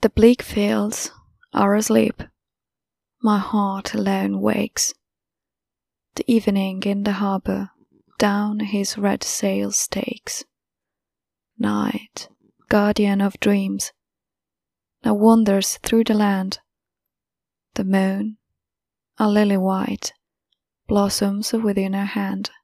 The bleak fields are asleep, my heart alone wakes. The evening in the harbour down his red sails takes. Night, guardian of dreams, now wanders through the land. The moon, a lily white, blossoms within her hand.